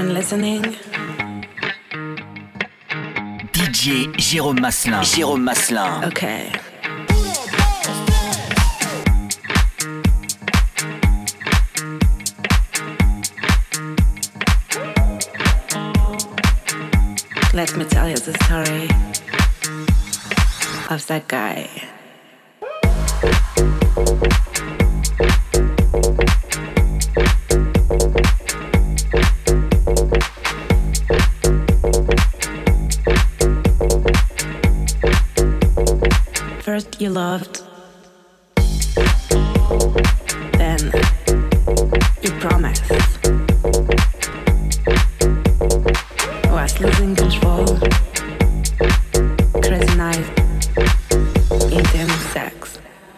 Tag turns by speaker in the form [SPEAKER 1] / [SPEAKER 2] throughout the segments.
[SPEAKER 1] everyone listening?
[SPEAKER 2] DJ Jérôme Maslin. Jérôme Maslin.
[SPEAKER 1] Okay. Let me tell you the story of that guy. First you loved, then you promised. Was losing control, crazy night, intense sex.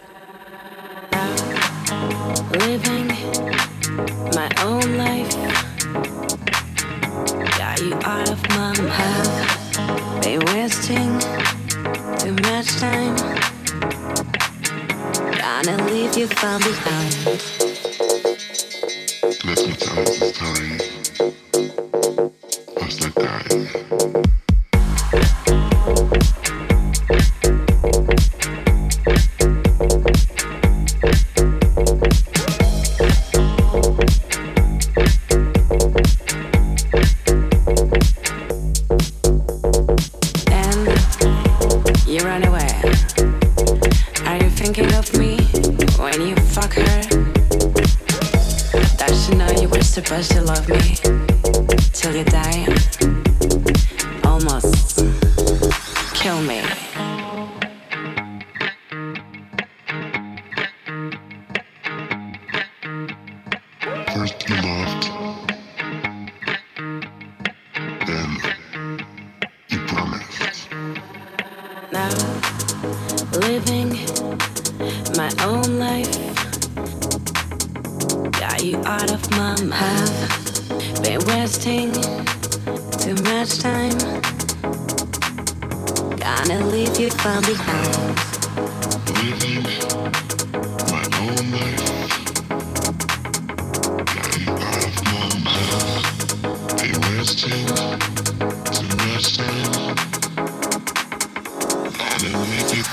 [SPEAKER 1] Living my own life, got you out of my head. Been wasting too much time, gonna leave you far behind.
[SPEAKER 3] Let me tell you the story.
[SPEAKER 1] Supposed to love me till you die, almost kill me.
[SPEAKER 3] First you loved, then you promised.
[SPEAKER 1] Now, living my own life, got you out of my head. Been wasting too much time, gonna leave you far behind.
[SPEAKER 3] Living my own life, got you out of my head. Been wasting too much time, gonna leave you.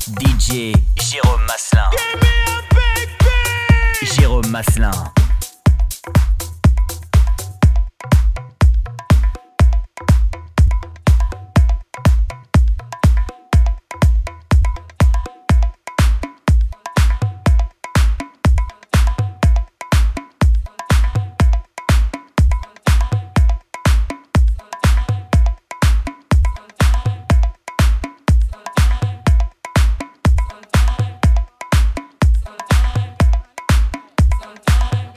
[SPEAKER 2] DJ Jérôme Maslin. Jérôme Maslin.
[SPEAKER 4] Sometimes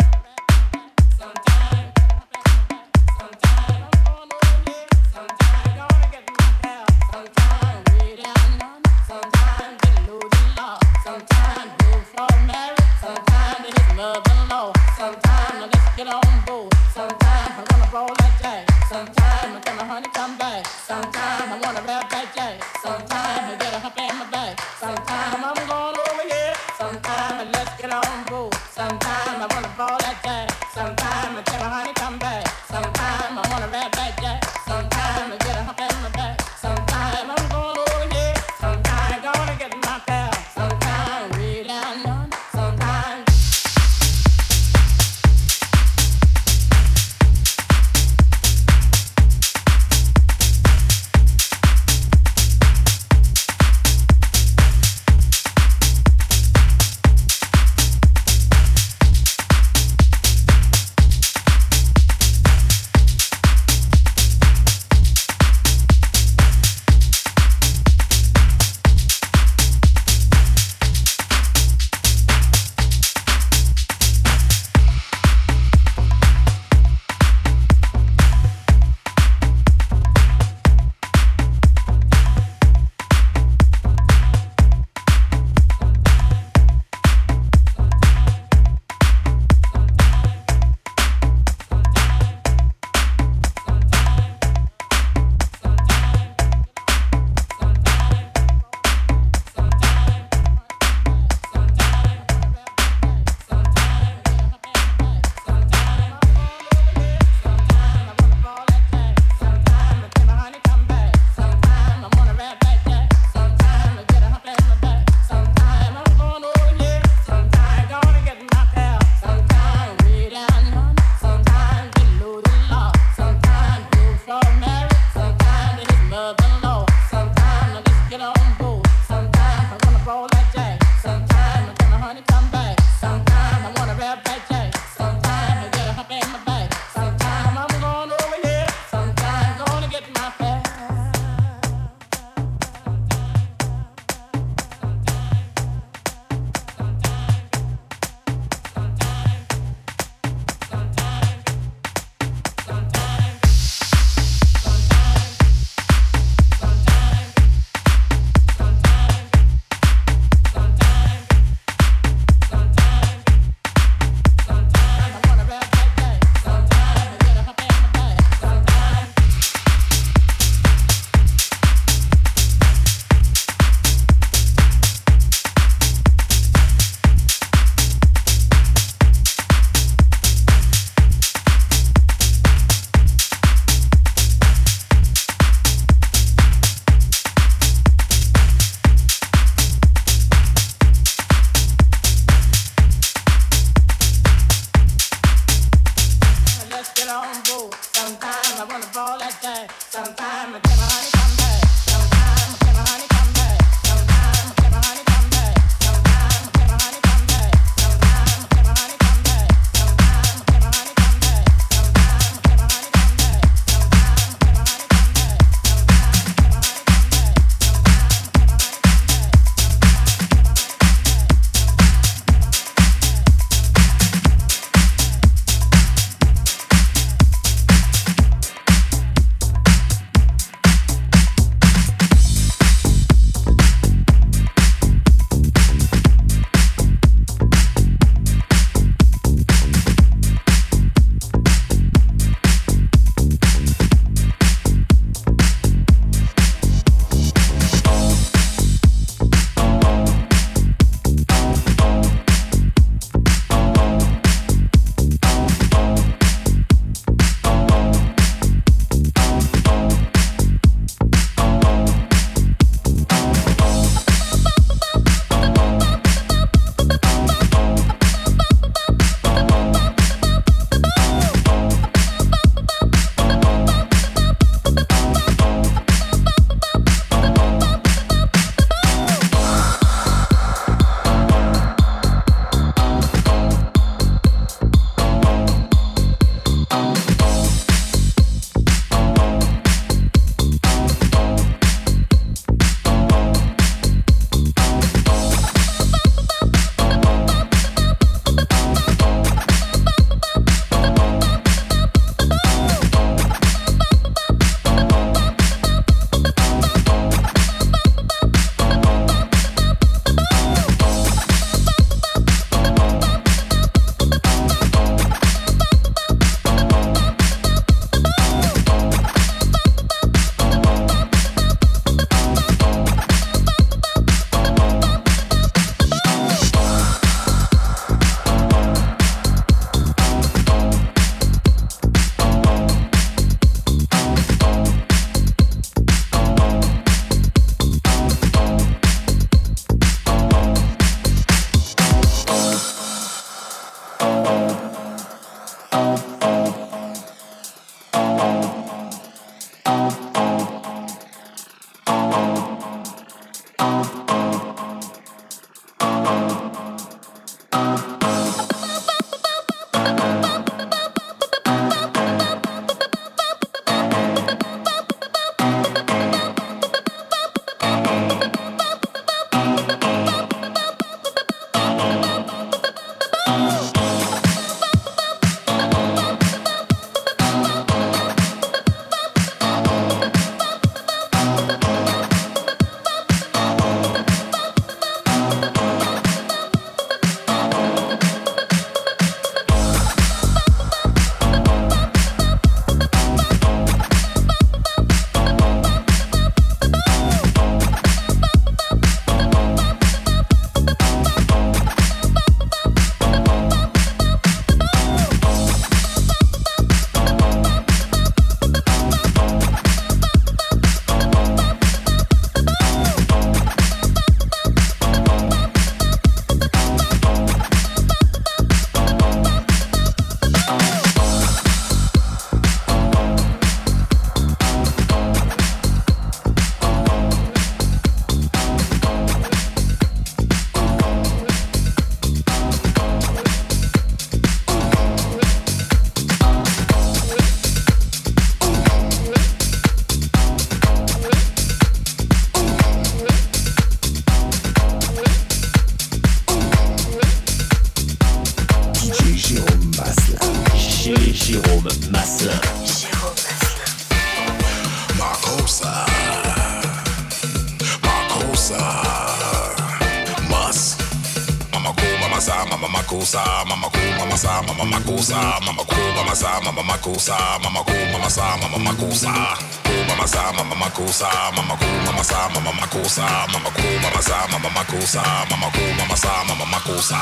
[SPEAKER 4] makusa, mama cool, mama sa, mama makusa, mama cool, mama sa, mama makusa, mama cool, mama sa, mama makusa, cool, mama sa, mama makusa, mama cool, mama sa, mama makusa, mama cool, mama sa, mama makusa, mama cool, mama sa, mama makusa.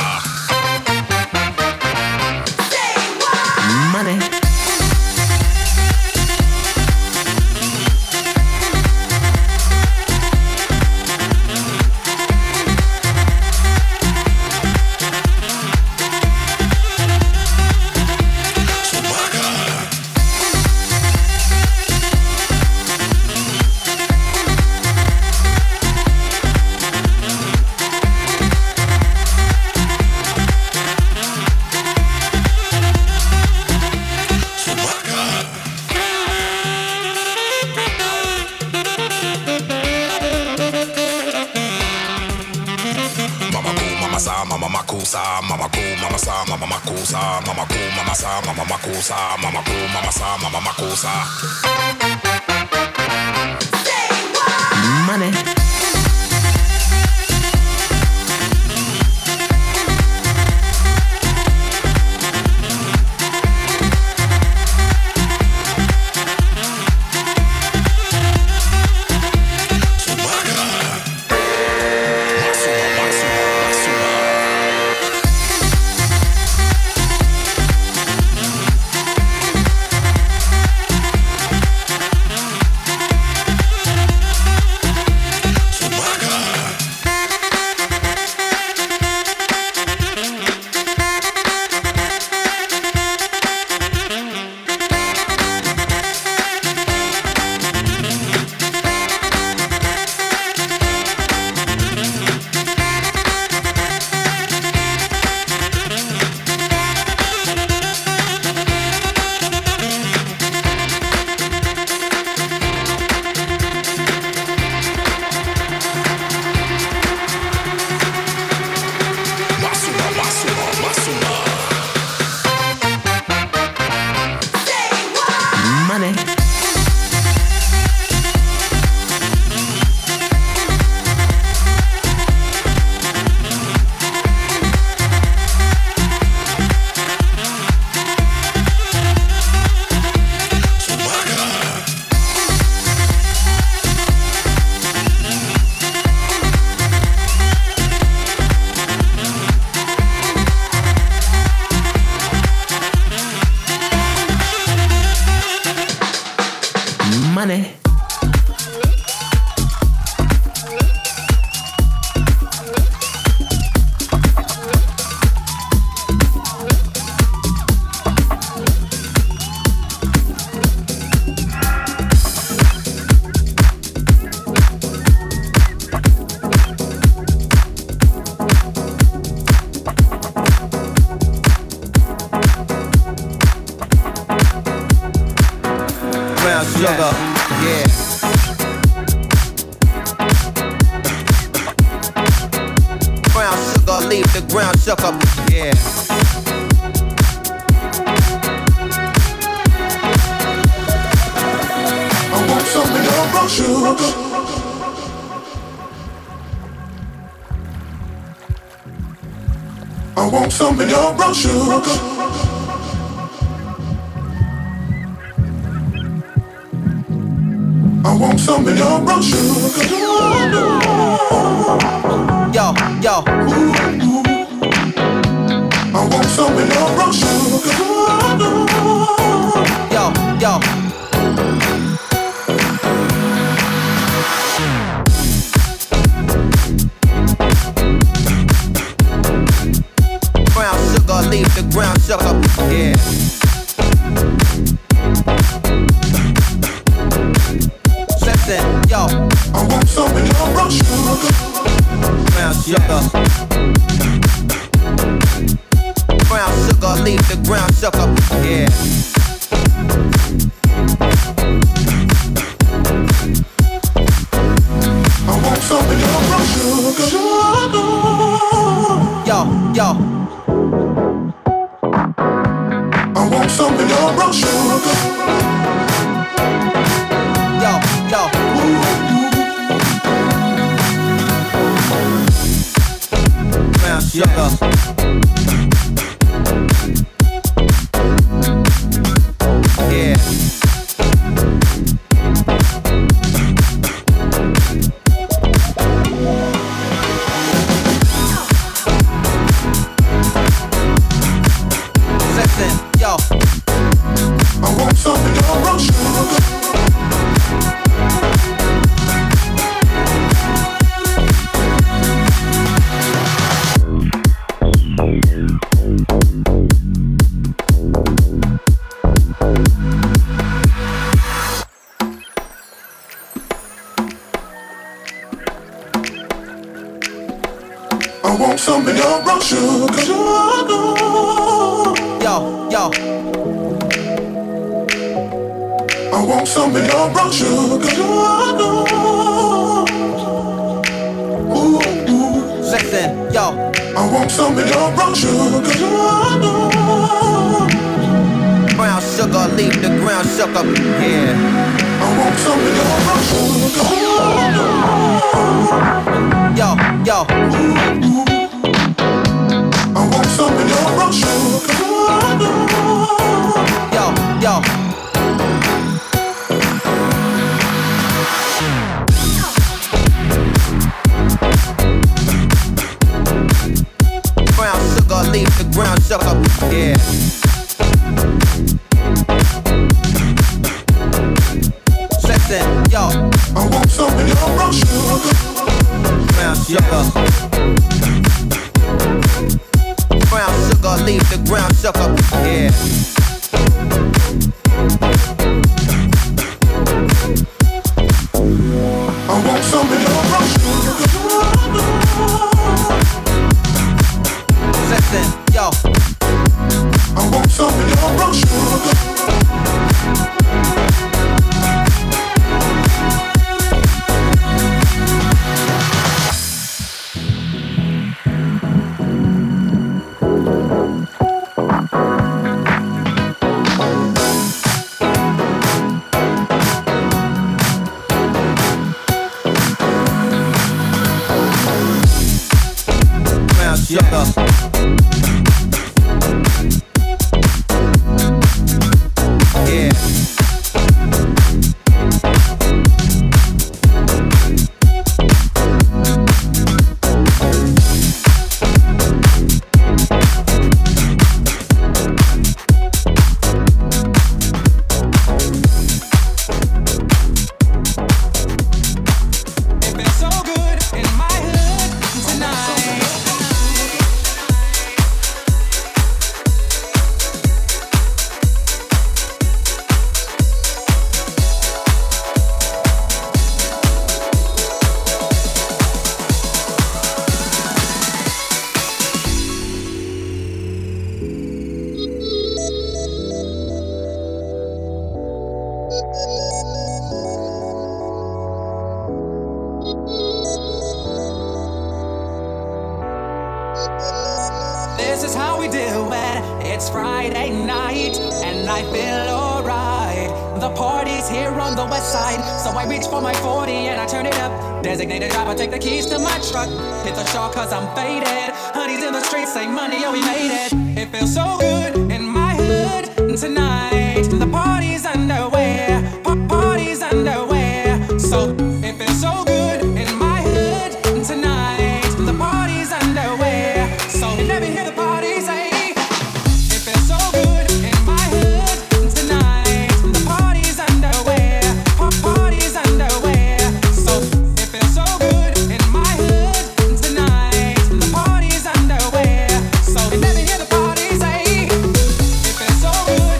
[SPEAKER 5] Money.
[SPEAKER 4] Mama makusa, mama cool, mama sa, mama makusa, mama cool, mama sa, mama makusa, mama cool, mama sa, mama makusa.
[SPEAKER 5] Money. Money.
[SPEAKER 6] Sugar, yeah. Brown sugar, leave the ground sugar, yeah.
[SPEAKER 3] I want some of your brown sugar. I want some of your brown sugar. I want some of your brown sugar.
[SPEAKER 6] Yo, yo.
[SPEAKER 3] I want some of your brown sugar.
[SPEAKER 6] Yo, yo. Brown sugar, leave the ground sugar, yeah. Yo,
[SPEAKER 3] I want some of your brown sugar.
[SPEAKER 6] Brown sugar. Brown sugar, leave the ground sugar, yeah.
[SPEAKER 3] I want some of your brown sugar.
[SPEAKER 6] Yo, yo.
[SPEAKER 3] I want some of your brown sugar.
[SPEAKER 6] Yo. Brown sugar.
[SPEAKER 3] I want some of your brown sugar.
[SPEAKER 6] Yo.
[SPEAKER 3] I want some of your brown sugar. Ooh.
[SPEAKER 6] Listen, yo.
[SPEAKER 3] I want some of your brown sugar.
[SPEAKER 6] Brown sugar, leave the ground shook up. Yeah.
[SPEAKER 3] I want some of your brown sugar.
[SPEAKER 6] Yo.
[SPEAKER 3] I want some of your brown sugar.
[SPEAKER 6] Yo. Brown sugar, leave the ground shook up. Yeah. Listen, yo.
[SPEAKER 3] I want some of your brown sugar.
[SPEAKER 6] Brown sugar. Brown sugar, leave the ground shook up. Yeah.
[SPEAKER 3] I want some of your brown sugar.
[SPEAKER 6] Listen, yo.
[SPEAKER 3] I want some of your brown sugar.
[SPEAKER 5] This is how we do it. It's Friday night and I feel alright. The party's here on the west side, so I reach for my 40 and I turn it up. Designated driver, take the keys to my truck. Hit the shore cause I'm faded. Honey's in the streets, say money, oh we made it. It feels so good in my hood tonight. The party's underway, party's underway. So it feels so good in my hood tonight. The party's underway. So you never hear the party say. It feels so good in my hood tonight. The party's underway, party's underway. So it feels so good in my hood tonight. The party's underway. So you never hear the party say. It feels so good.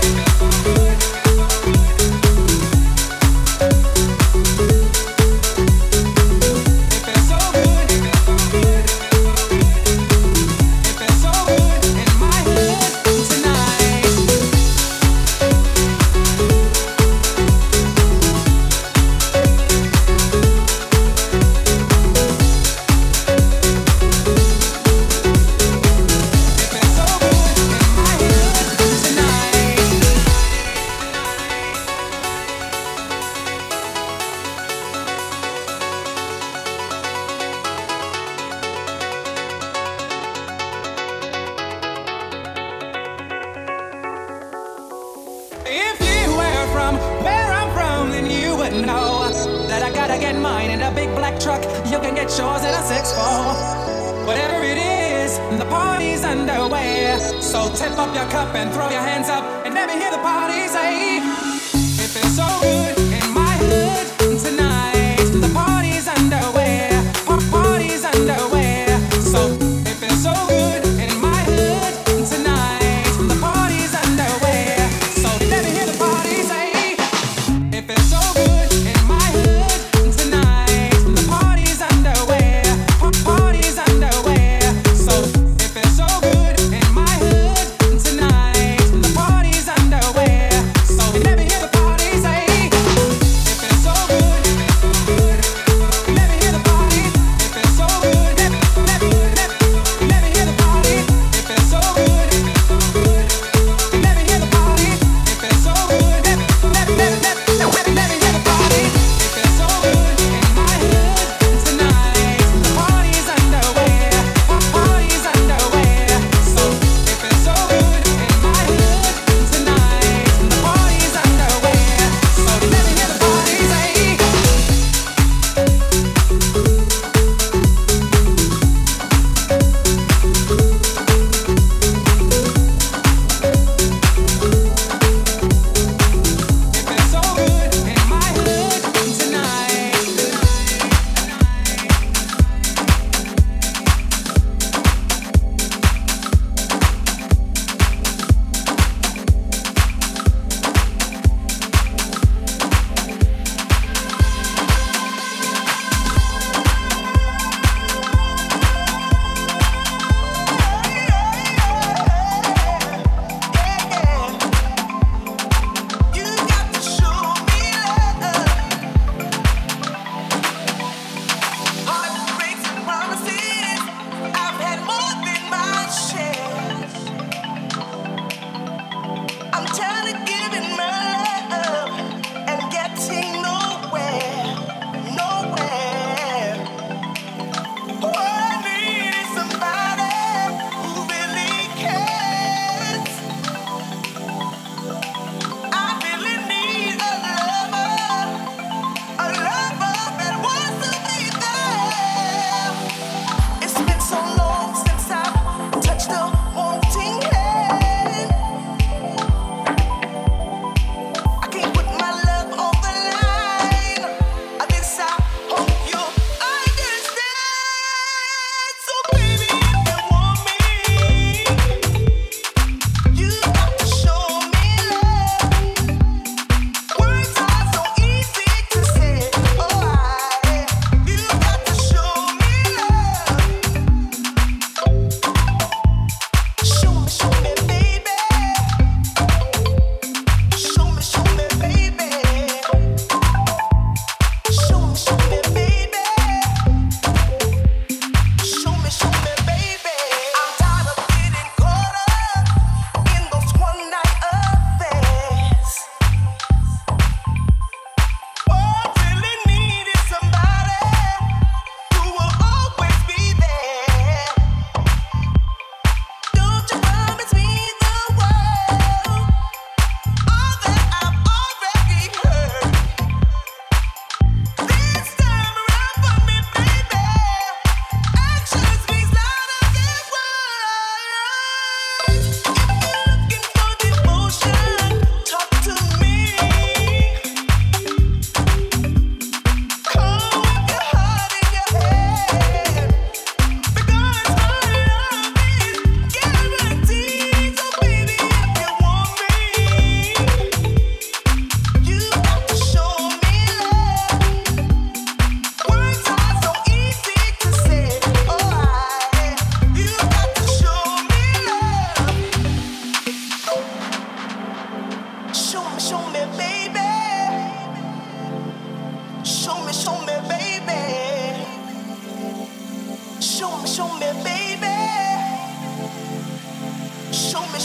[SPEAKER 5] If you were from where I'm from, then you would know that I gotta get mine in a big black truck. You can get yours in a 6'4". Whatever it is, the party's underway. So tip up your cup and throw your hands up and let me hear the party say. It feels so good in my hood tonight. The party's underway, party's underway. So it feels so good in my hood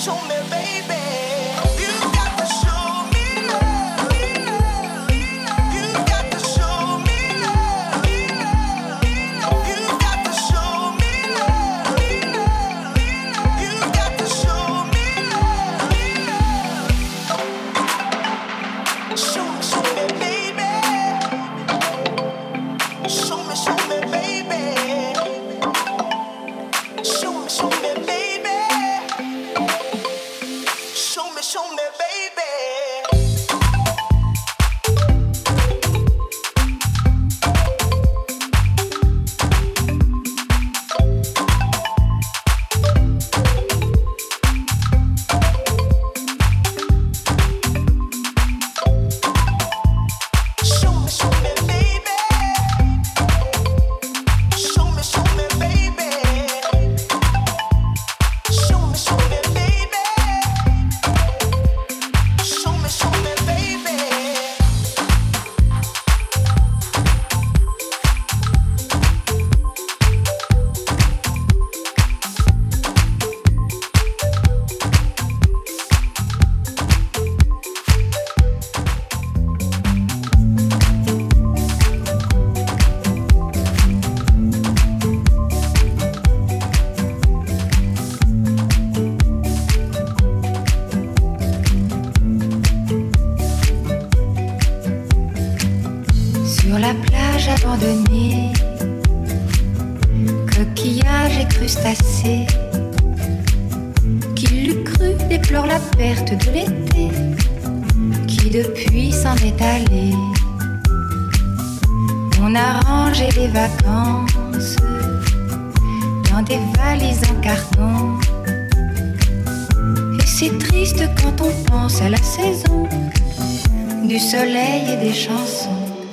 [SPEAKER 7] abandonnés, coquillages et crustacés. Qui l'eût cru déplore la perte de l'été, qui depuis s'en est allé. On a rangé les vacances dans des valises en carton. Et c'est triste quand on pense à la saison du soleil et des chansons.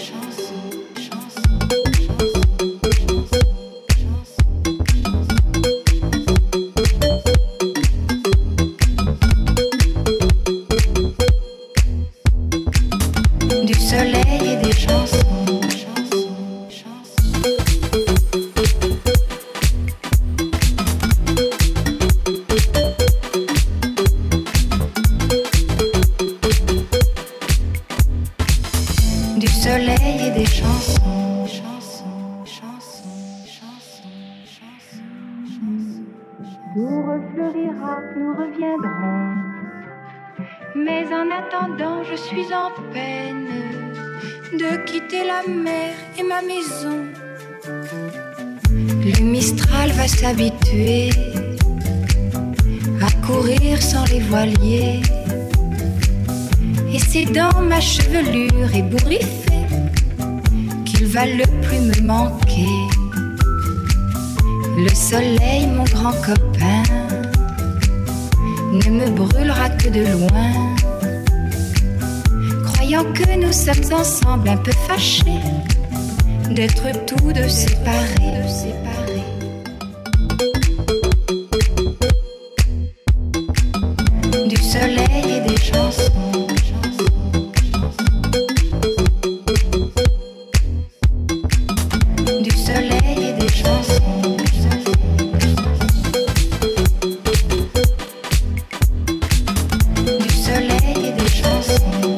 [SPEAKER 7] S'habituer à courir sans les voiliers. Et c'est dans ma chevelure ébouriffée qu'il va le plus me manquer. Le soleil, mon grand copain, ne me brûlera que de loin, croyant que nous sommes ensemble un peu fâchés d'être tous deux séparés. Soleil et des chansons. Du soleil et des chansons. Du soleil et des chansons.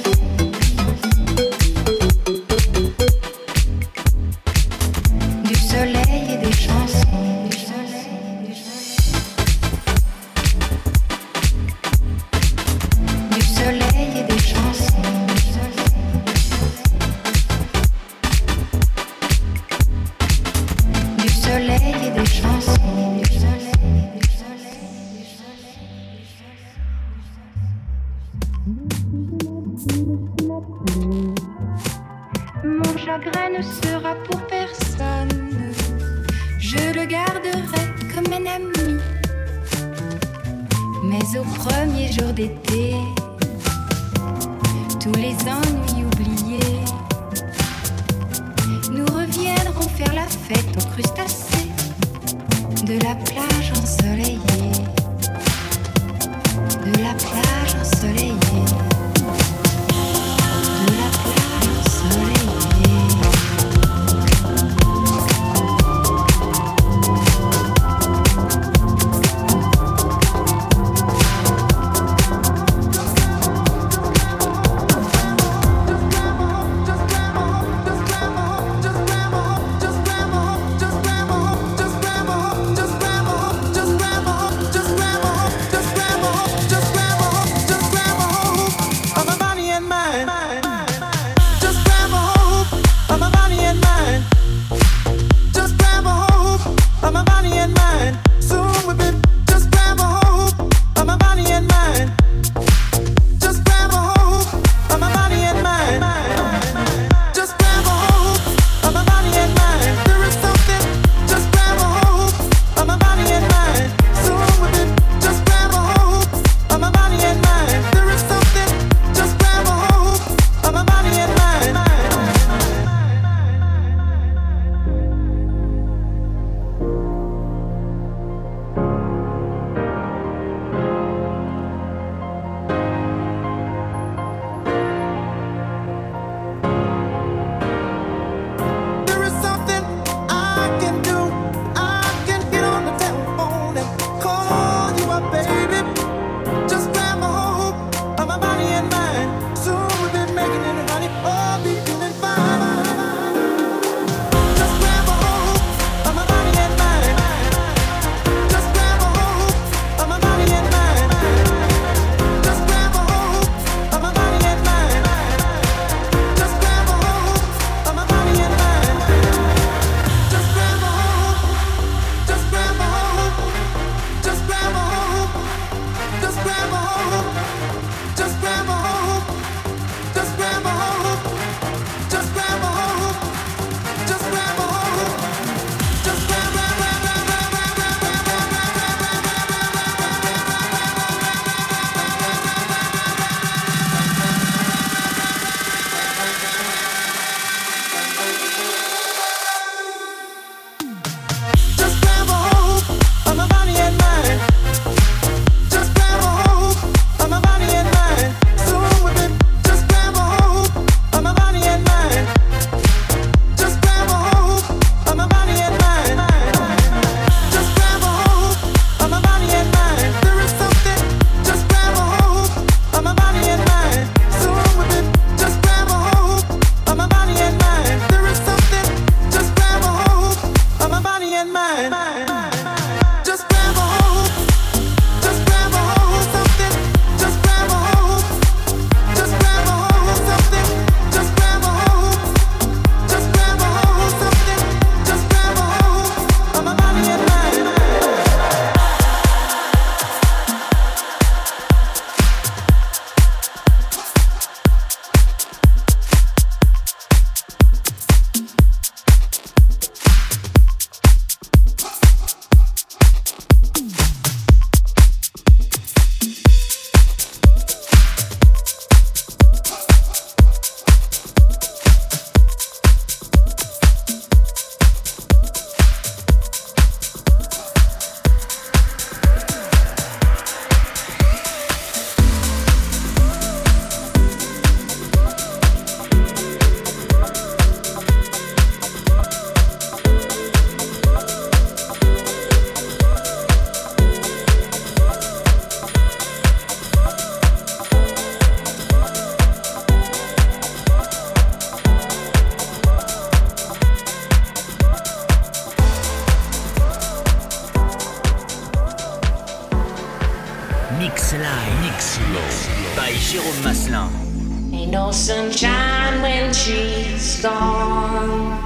[SPEAKER 7] Du soleil et des chansons. Mon chagrin ne sera pour personne, je le garderai comme un ami. Mais au premier jour d'été, tous les ennuis oubliés, nous reviendrons faire la fête aux crustacés de la plage ensoleillée, de la plage ensoleillée.
[SPEAKER 2] Mix by Jérôme Maslin.
[SPEAKER 8] Ain't no sunshine when she's gone.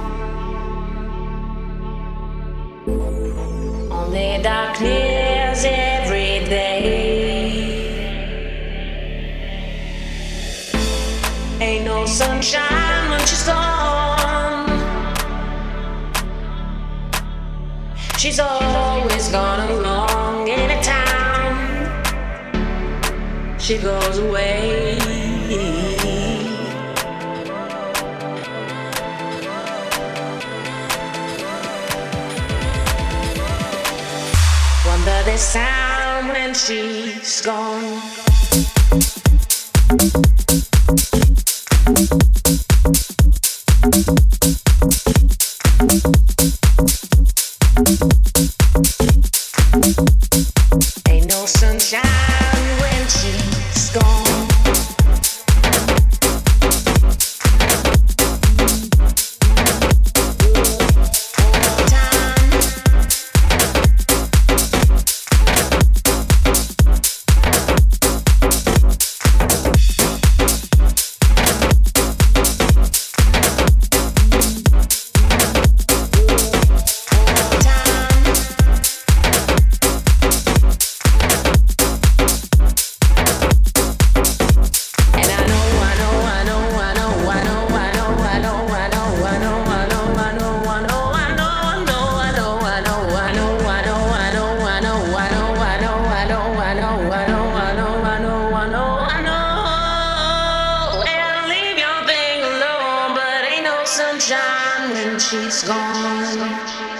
[SPEAKER 8] Only darkness every day. Ain't no sunshine when she's gone. She's always gone along anytime she goes away. Wonder the sound when she's gone. Ain't no sunshine when she's gone. Sunshine when she's gone.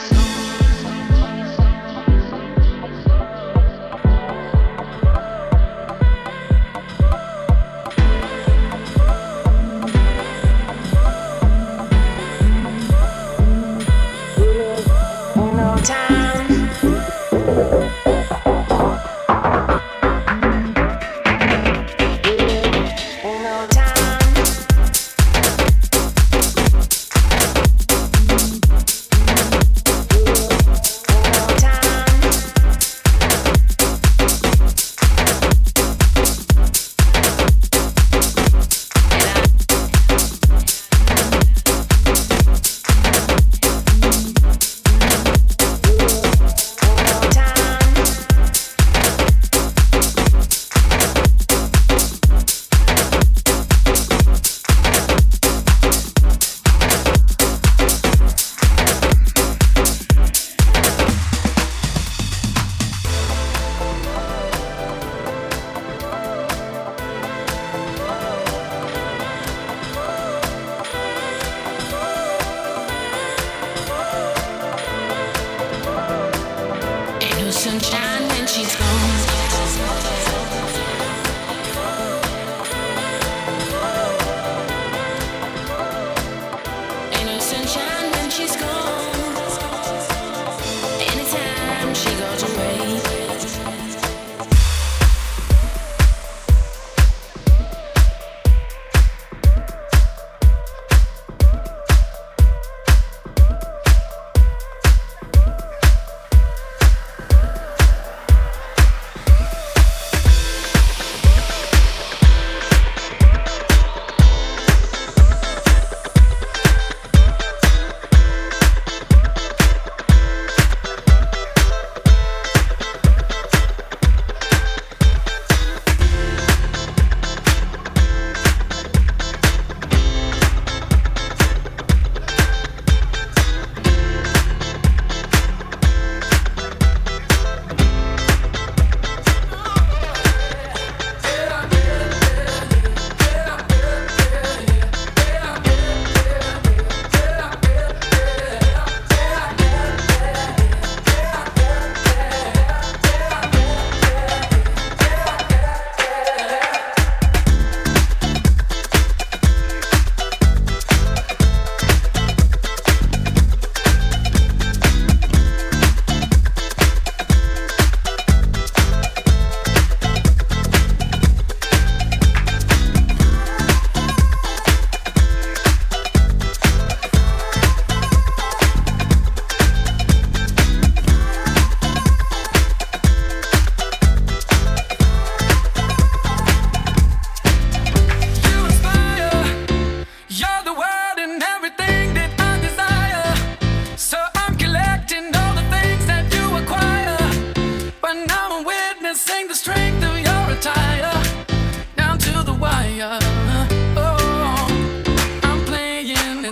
[SPEAKER 8] Sunshine when she's gone. Ain't no sunshine when she's gone. Anytime she goes away.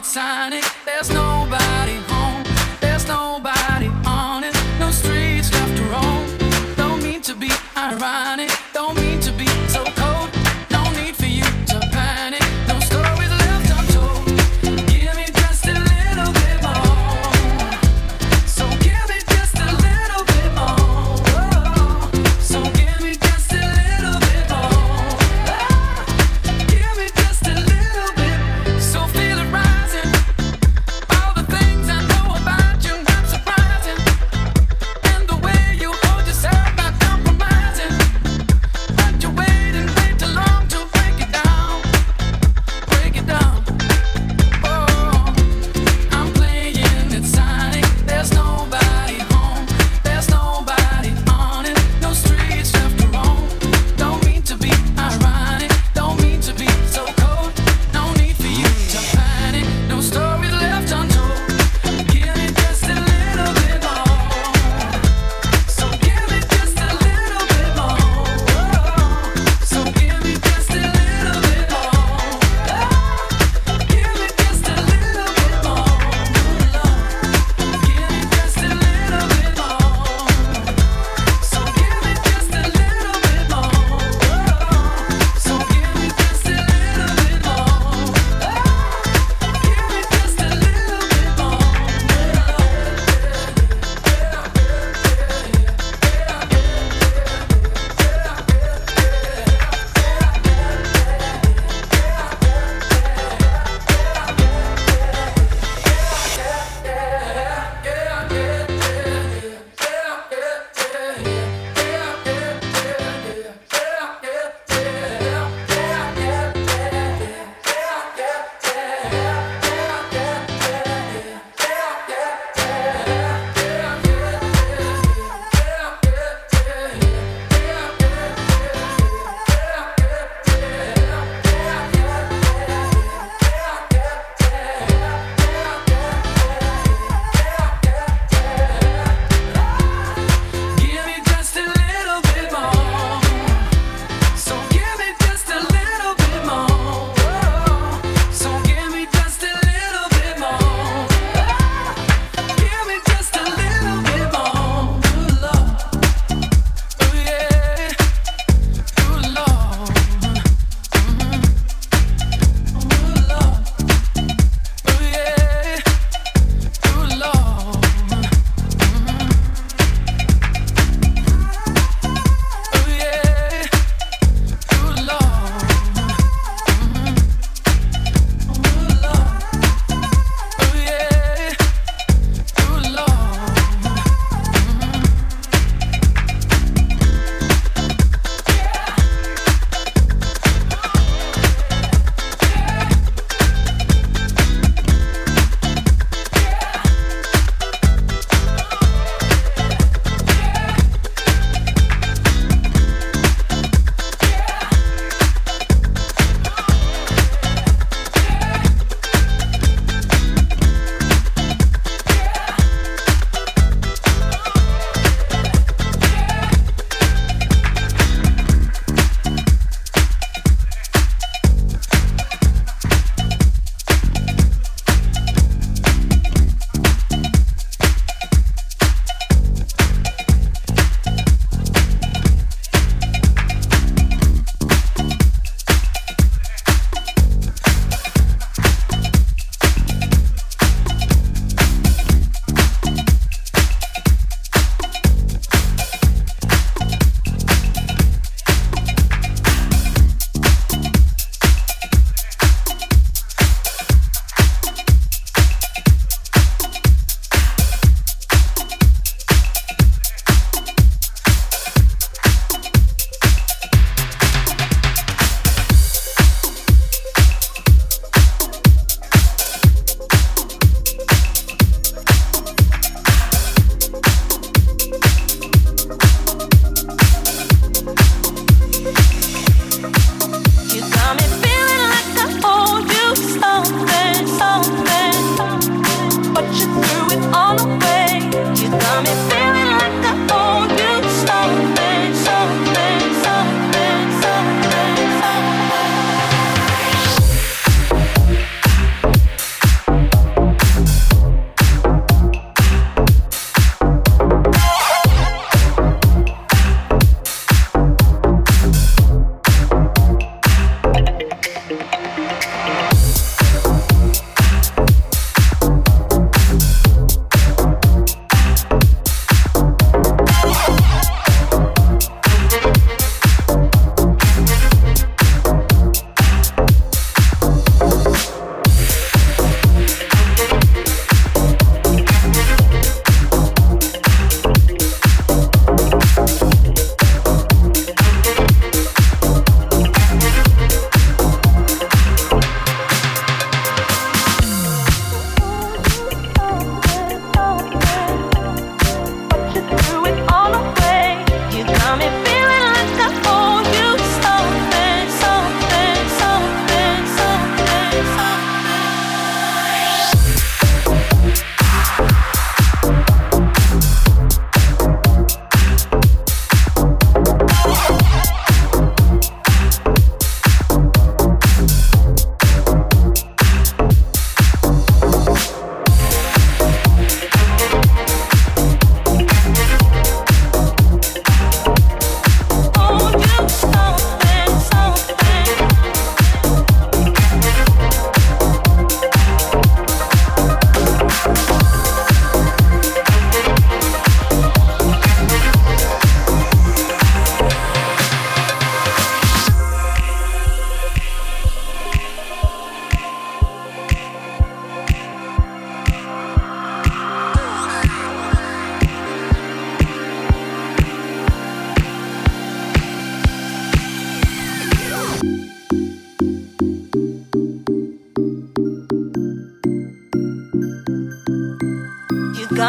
[SPEAKER 5] sign it. There's nobody home, there's nobody on it. No streets left to roam. Don't mean to be ironic, don't mean to be so cold. No need for you to panic. No stories left untold. Give me just a little bit more. So give me just a little bit more. So give me just a little bit more. Give me just a little bit. So feel it rising.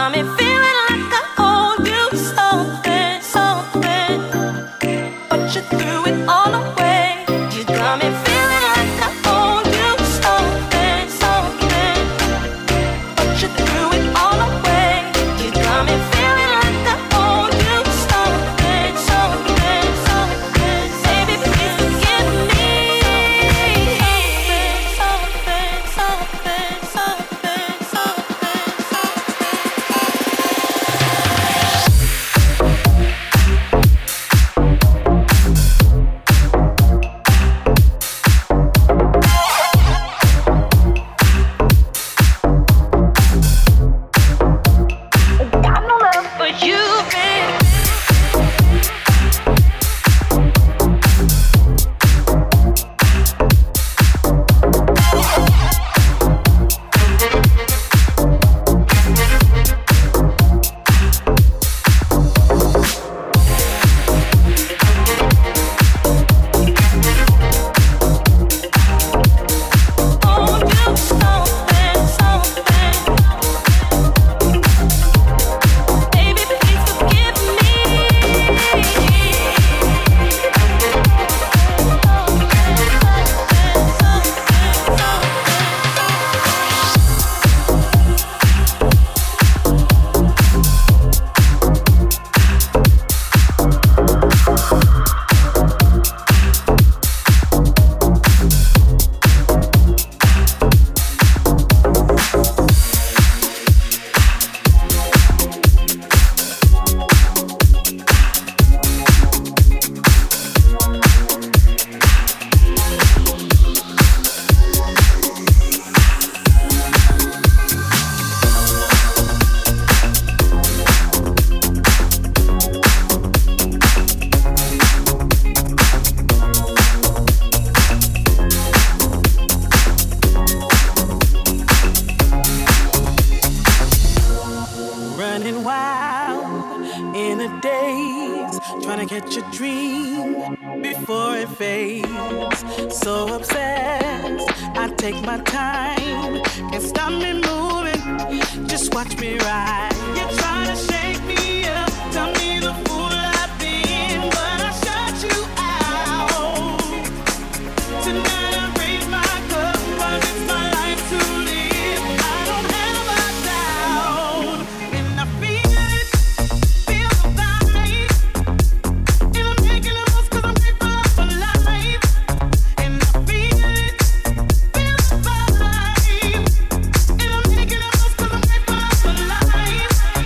[SPEAKER 8] got me feeling like I owe you something, something. But you threw it all away. You got me feeling like I owe you something, something. But you threw it all away. You got me feeling like I owe you something, something, something. Baby, please forgive me. Something, something, something, something, got no love for you, baby. Owe you something, something. Baby, please forgive me.
[SPEAKER 5] Running wild in the days, trying to catch a dream before it fades. So obsessed, I take my time, can't stop me moving, just watch me ride. You're trying to shake me up, tell me the fool I've been, but I shut you out. Tonight I raise my cup, but it's my life to live. I don't have a doubt, and I feel it, feel the vibe. And I'm making the most 'cause I'm grateful for life. And I feel it, feel the vibe. And I'm making the most 'cause I'm grateful for life.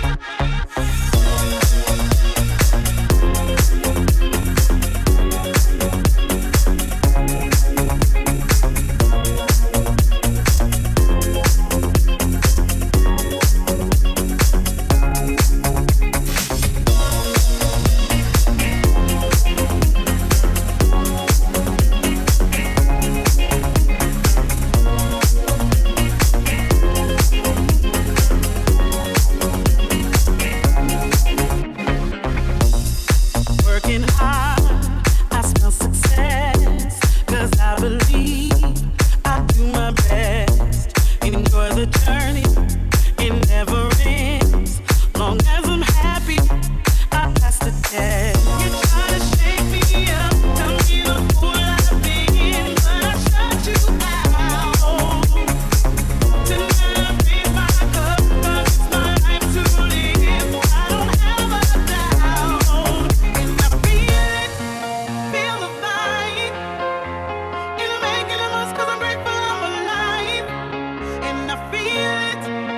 [SPEAKER 5] Working hard, I smell success, 'cause I believe I do my best. Enjoy the journey, it never ends. Long as I'm happy, I pass the test. You try to shake me up, tell me the fool I've been, but I shut you out. Tonight I raise my cup, 'cause it's my life to live. I don't have a doubt, and I feel it, feel the vibe. And I'm making the most 'cause I'm grateful I'm alive. And I feel it,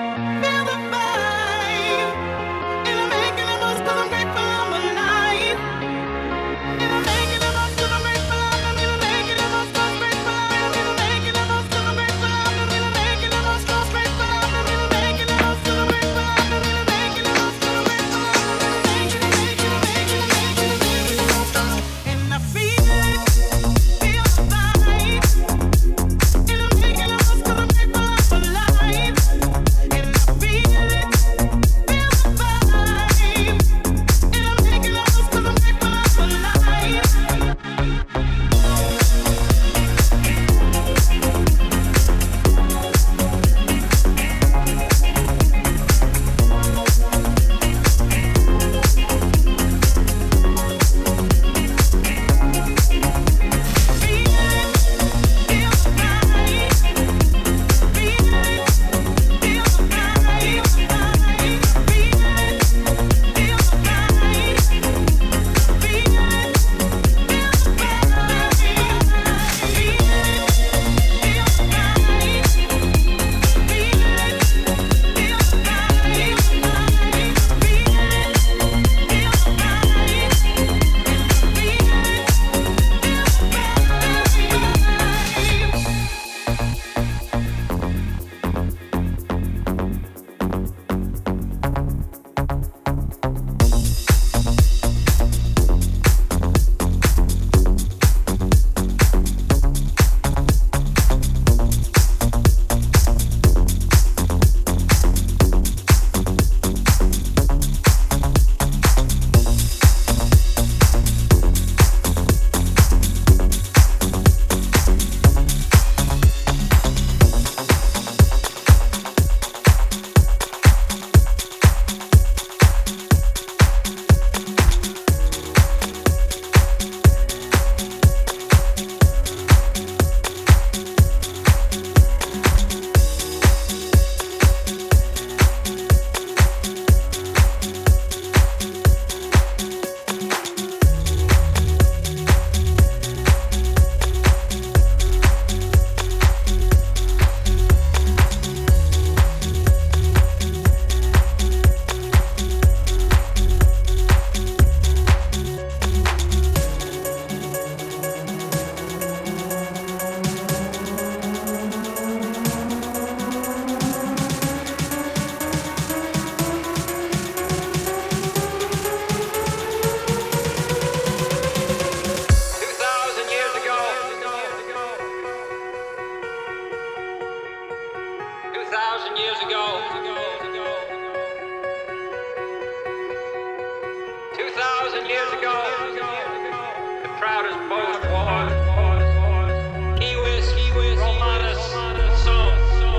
[SPEAKER 9] 2,000 years ago, the proudest boast was Civis Romanus Sum.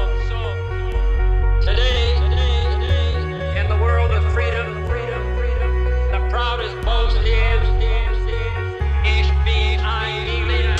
[SPEAKER 9] Today, in the world of freedom, the proudest boast is Ich bin ein Berliner.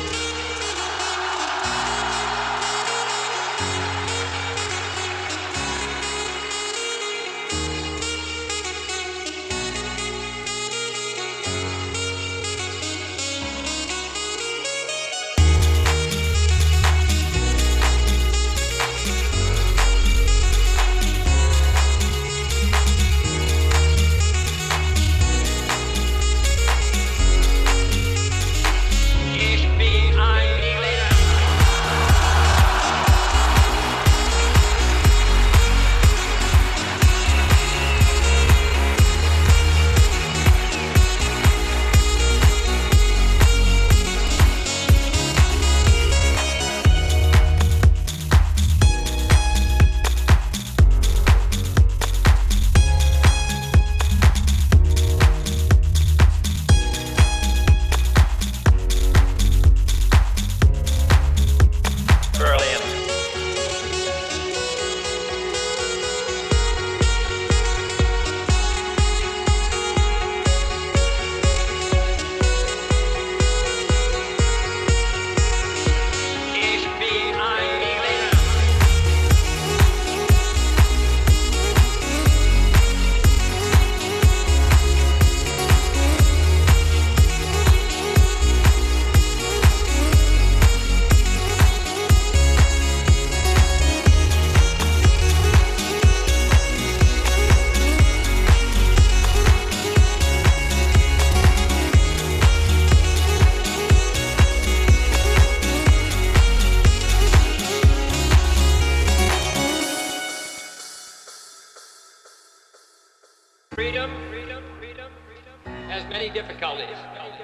[SPEAKER 9] Freedom has many difficulties,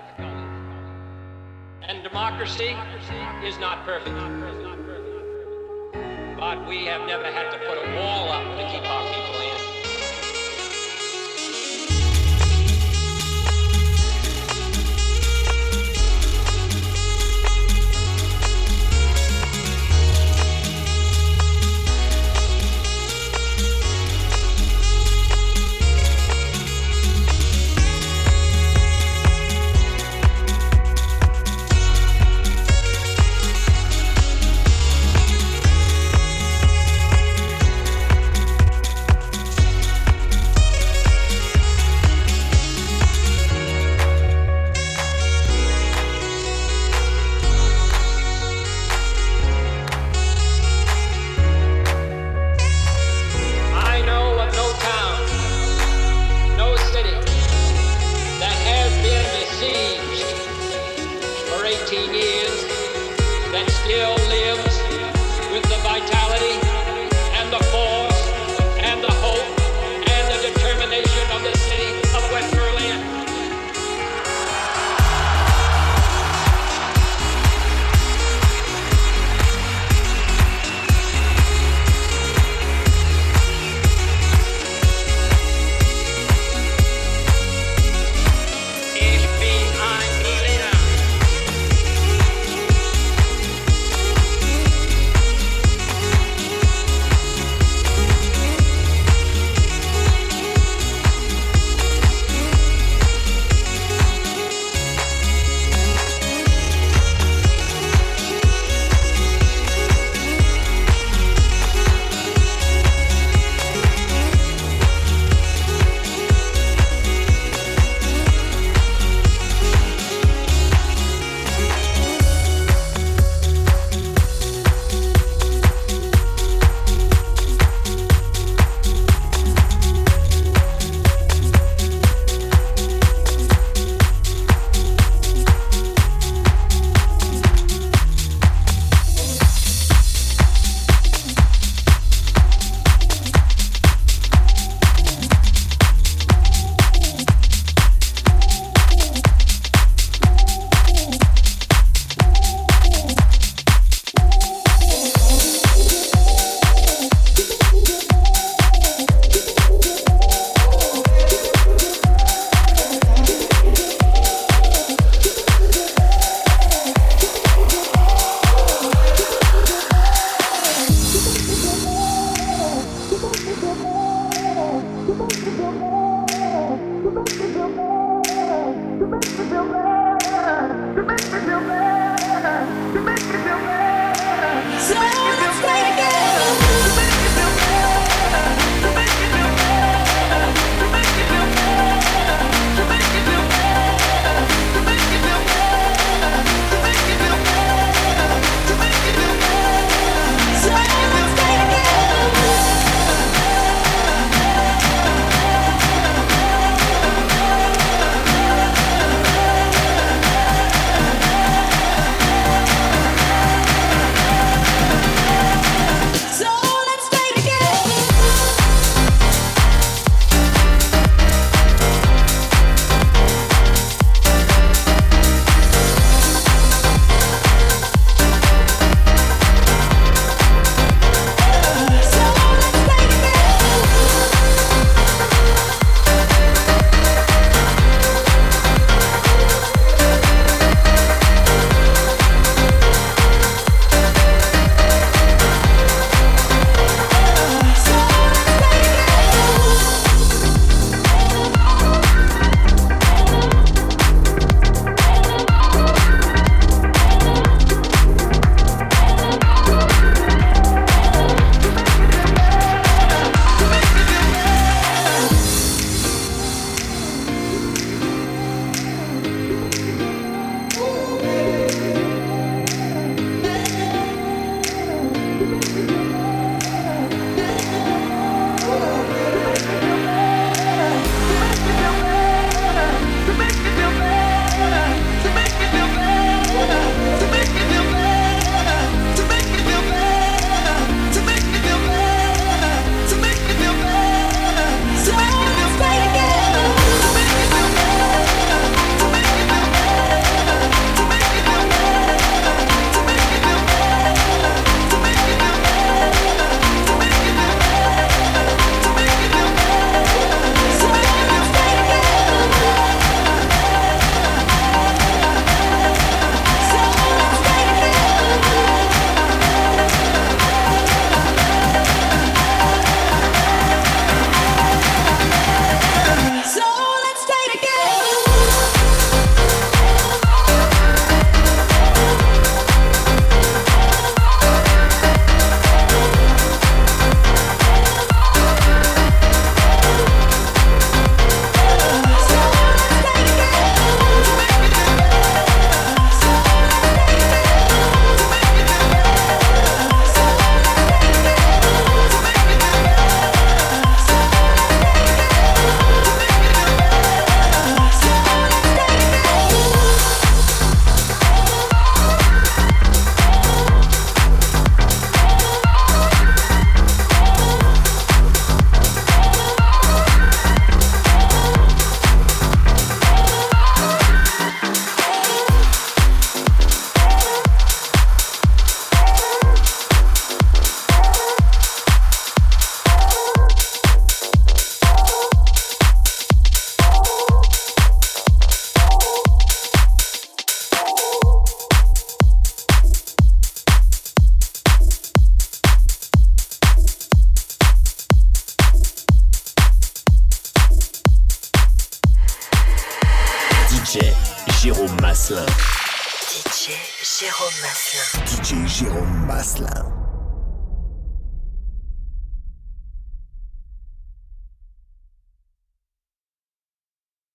[SPEAKER 9] and democracy is not perfect. But we have never had to put a wall up to keep our people in.
[SPEAKER 10] Jérôme Maslin.
[SPEAKER 11] DJ Jérôme Maslin.